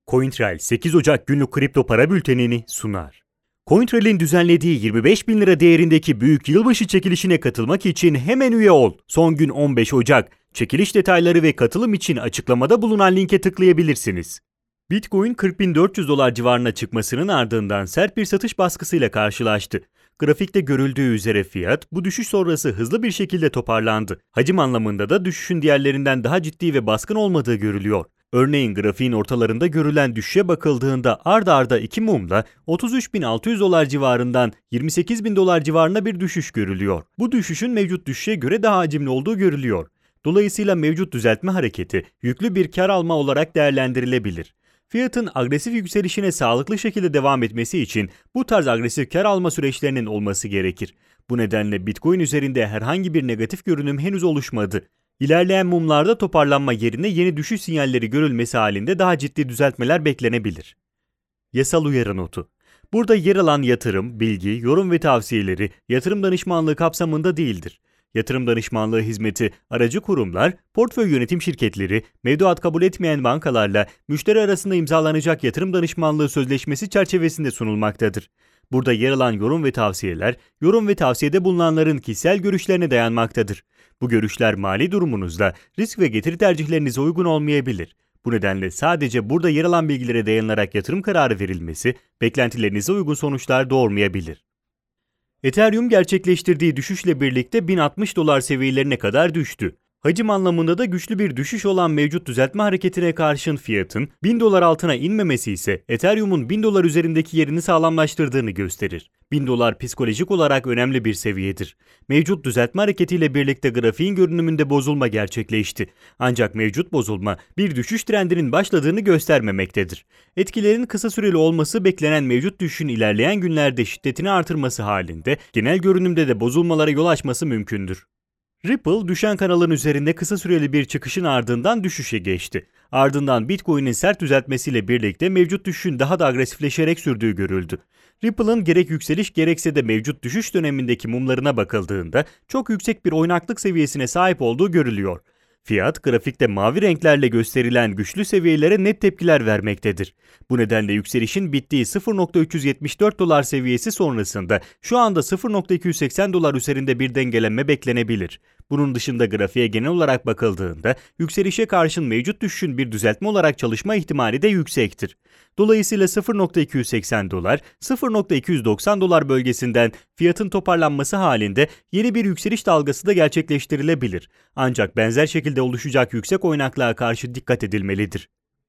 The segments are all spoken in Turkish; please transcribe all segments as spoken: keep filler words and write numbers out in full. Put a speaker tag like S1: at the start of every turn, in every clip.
S1: CoinTrail sekiz Ocak günlük kripto para bültenini sunar. CoinTrail'in düzenlediği yirmi beş bin lira değerindeki büyük yılbaşı çekilişine katılmak için hemen üye ol. Son gün on beş Ocak. Çekiliş detayları ve katılım için açıklamada bulunan linke tıklayabilirsiniz. Bitcoin kırk bin dört yüz dolar civarına çıkmasının ardından sert bir satış baskısıyla karşılaştı. Grafikte görüldüğü üzere fiyat bu düşüş sonrası hızlı bir şekilde toparlandı. Hacim anlamında da düşüşün diğerlerinden daha ciddi ve baskın olmadığı görülüyor. Örneğin grafiğin ortalarında görülen düşüşe bakıldığında ard arda iki mumla otuz üç bin altı yüz dolar civarından yirmi sekiz bin dolar civarına bir düşüş görülüyor. Bu düşüşün mevcut düşüşe göre daha hacimli olduğu görülüyor. Dolayısıyla mevcut düzeltme hareketi yüklü bir kar alma olarak değerlendirilebilir. Fiyatın agresif yükselişine sağlıklı şekilde devam etmesi için bu tarz agresif kar alma süreçlerinin olması gerekir. Bu nedenle Bitcoin üzerinde herhangi bir negatif görünüm henüz oluşmadı. İlerleyen mumlarda toparlanma yerine yeni düşüş sinyalleri görülmesi halinde daha ciddi düzeltmeler beklenebilir. Yasal uyarı notu. Burada yer alan yatırım, bilgi, yorum ve tavsiyeleri yatırım danışmanlığı kapsamında değildir. Yatırım danışmanlığı hizmeti aracı kurumlar, portföy yönetim şirketleri, mevduat kabul etmeyen bankalarla müşteri arasında imzalanacak yatırım danışmanlığı sözleşmesi çerçevesinde sunulmaktadır. Burada yer alan yorum ve tavsiyeler, yorum ve tavsiyede bulunanların kişisel görüşlerine dayanmaktadır. Bu görüşler mali durumunuzda risk ve getiri tercihlerinize uygun olmayabilir. Bu nedenle sadece burada yer alan bilgilere dayanarak yatırım kararı verilmesi, beklentilerinize uygun sonuçlar doğurmayabilir. Ethereum gerçekleştirdiği düşüşle birlikte bin altmış dolar seviyelerine kadar düştü. Hacim anlamında da güçlü bir düşüş olan mevcut düzeltme hareketine karşın fiyatın bin dolar altına inmemesi ise Ethereum'un bin dolar üzerindeki yerini sağlamlaştırdığını gösterir. bin dolar psikolojik olarak önemli bir seviyedir. Mevcut düzeltme hareketiyle birlikte grafiğin görünümünde bozulma gerçekleşti. Ancak mevcut bozulma bir düşüş trendinin başladığını göstermemektedir. Etkilerin kısa süreli olması beklenen mevcut düşüşün ilerleyen günlerde şiddetini artırması halinde genel görünümde de bozulmalara yol açması mümkündür. Ripple, düşen kanalın üzerinde kısa süreli bir çıkışın ardından düşüşe geçti. Ardından Bitcoin'in sert düzeltmesiyle birlikte mevcut düşüşün daha da agresifleşerek sürdüğü görüldü. Ripple'ın gerek yükseliş gerekse de mevcut düşüş dönemindeki mumlarına bakıldığında çok yüksek bir oynaklık seviyesine sahip olduğu görülüyor. Fiyat, grafikte mavi renklerle gösterilen güçlü seviyelere net tepkiler vermektedir. Bu nedenle yükselişin bittiği sıfır nokta üç yüz yetmiş dört dolar seviyesi sonrasında şu anda sıfır nokta iki yüz seksen dolar üzerinde bir dengelenme beklenebilir. Bunun dışında grafiğe genel olarak bakıldığında yükselişe karşın mevcut düşüşün bir düzeltme olarak çalışma ihtimali de yüksektir. Dolayısıyla sıfır nokta iki yüz seksen dolar, sıfır nokta iki yüz doksan dolar bölgesinden fiyatın toparlanması halinde yeni bir yükseliş dalgası da gerçekleştirilebilir. Ancak benzer şekilde oluşacak yüksek oynaklığa karşı dikkat edilmelidir.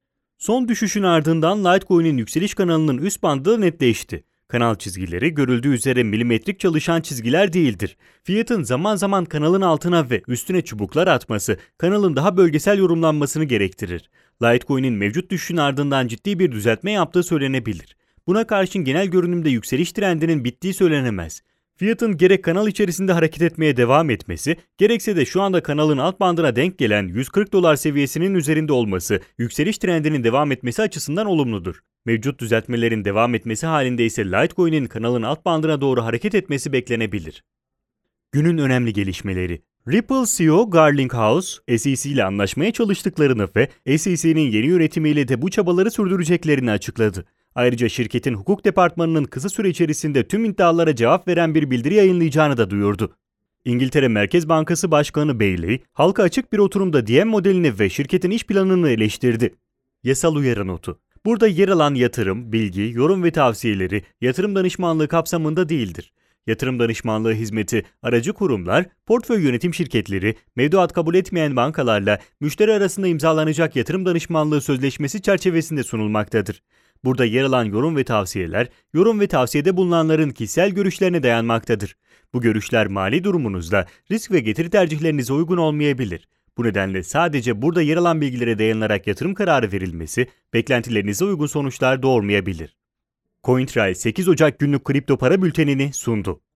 S1: Son düşüşün ardından Litecoin'in yükseliş kanalının üst bandı da netleşti. Kanal çizgileri görüldüğü üzere milimetrik çalışan çizgiler değildir. Fiyatın zaman zaman kanalın altına ve üstüne çubuklar atması kanalın daha bölgesel yorumlanmasını gerektirir. Litecoin'in mevcut düşüşün ardından ciddi bir düzeltme yaptığı söylenebilir. Buna karşın genel görünümde yükseliş trendinin bittiği söylenemez. Fiyatın gerek kanal içerisinde hareket etmeye devam etmesi, gerekse de şu anda kanalın alt bandına denk gelen yüz kırk dolar seviyesinin üzerinde olması, yükseliş trendinin devam etmesi açısından olumludur. Mevcut düzeltmelerin devam etmesi halinde ise Litecoin'in kanalın alt bandına doğru hareket etmesi beklenebilir. Günün önemli gelişmeleri. Ripple C E O Garlinghouse, S E C ile anlaşmaya çalıştıklarını ve S E C'nin yeni yönetimiyle de bu çabaları sürdüreceklerini açıkladı. Ayrıca şirketin hukuk departmanının kısa süre içerisinde tüm iddialara cevap veren bir bildiri yayınlayacağını da duyurdu. İngiltere Merkez Bankası Başkanı Bailey, halka açık bir oturumda D M modelini ve şirketin iş planını eleştirdi. Yasal uyarı notu. Burada yer alan yatırım, bilgi, yorum ve tavsiyeleri yatırım danışmanlığı kapsamında değildir. Yatırım danışmanlığı hizmeti aracı kurumlar, portföy yönetim şirketleri, mevduat kabul etmeyen bankalarla müşteri arasında imzalanacak yatırım danışmanlığı sözleşmesi çerçevesinde sunulmaktadır. Burada yer alan yorum ve tavsiyeler, yorum ve tavsiyede bulunanların kişisel görüşlerine dayanmaktadır. Bu görüşler mali durumunuzda risk ve getiri tercihlerinize uygun olmayabilir. Bu nedenle sadece burada yer alan bilgilere dayanarak yatırım kararı verilmesi, beklentilerinize uygun sonuçlar doğurmayabilir. CoinTrail sekiz Ocak günlük kripto para bültenini sundu.